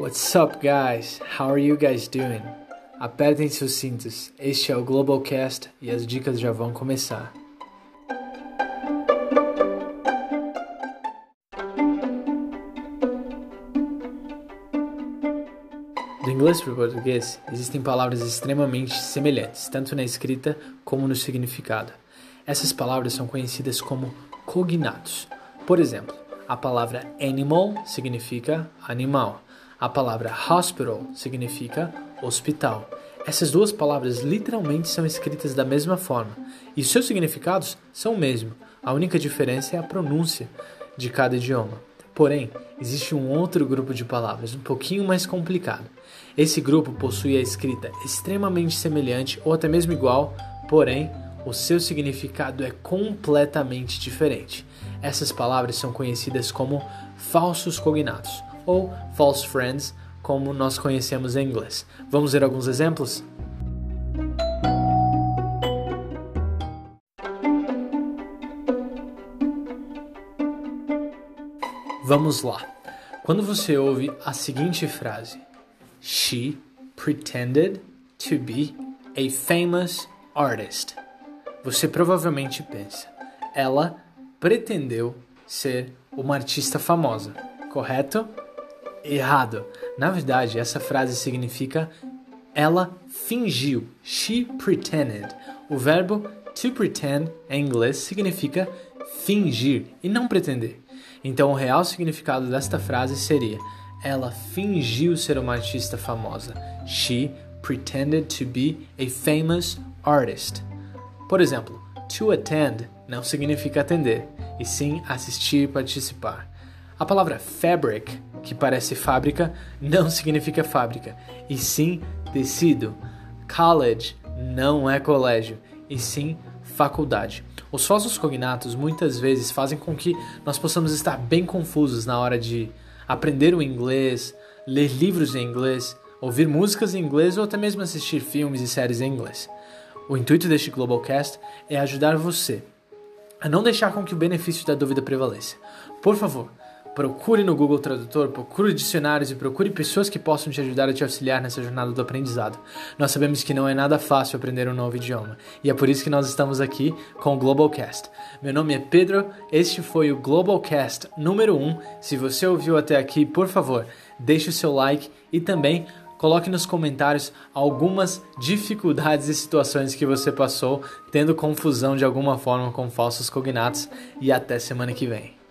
What's up, guys? How are you guys doing? Apertem seus cintos, este é o Globalcast e as dicas já vão começar. Do inglês para o português, existem palavras extremamente semelhantes, tanto na escrita como no significado. Essas palavras são conhecidas como cognatos. Por exemplo, a palavra animal significa animal. A palavra hospital significa hospital. Essas duas palavras literalmente são escritas da mesma forma e seus significados são o mesmo. A única diferença é a pronúncia de cada idioma. Porém, existe um outro grupo de palavras um pouquinho mais complicado. Esse grupo possui a escrita extremamente semelhante ou até mesmo igual, porém, o seu significado é completamente diferente. Essas palavras são conhecidas como falsos cognatos ou false friends, como nós conhecemos em inglês. Vamos ver alguns exemplos? Vamos lá. Quando você ouve a seguinte frase: She pretended to be a famous artist. Você provavelmente pensa, ela pretendeu ser uma artista famosa, correto? Errado. Na verdade, essa frase significa ela fingiu. She pretended. O verbo to pretend em inglês significa fingir e não pretender. Então, o real significado desta frase seria: ela fingiu ser uma artista famosa. She pretended to be a famous artist. Por exemplo, to attend não significa atender, e sim assistir e participar. A palavra fabric, que parece fábrica, não significa fábrica, e sim tecido. College não é colégio, e sim faculdade. Os falsos cognatos muitas vezes fazem com que nós possamos estar bem confusos na hora de aprender o inglês, ler livros em inglês, ouvir músicas em inglês ou até mesmo assistir filmes e séries em inglês. O intuito deste Globalcast é ajudar você a não deixar com que o benefício da dúvida prevaleça. Por favor, procure no Google Tradutor, procure dicionários e procure pessoas que possam te ajudar a te auxiliar nessa jornada do aprendizado. Nós sabemos que não é nada fácil aprender um novo idioma, e é por isso que nós estamos aqui com o Globalcast. Meu nome é Pedro, este foi o Globalcast número 1. Se você ouviu até aqui, por favor, deixe o seu like e também coloque nos comentários algumas dificuldades e situações que você passou tendo confusão de alguma forma com falsos cognatos, e até semana que vem.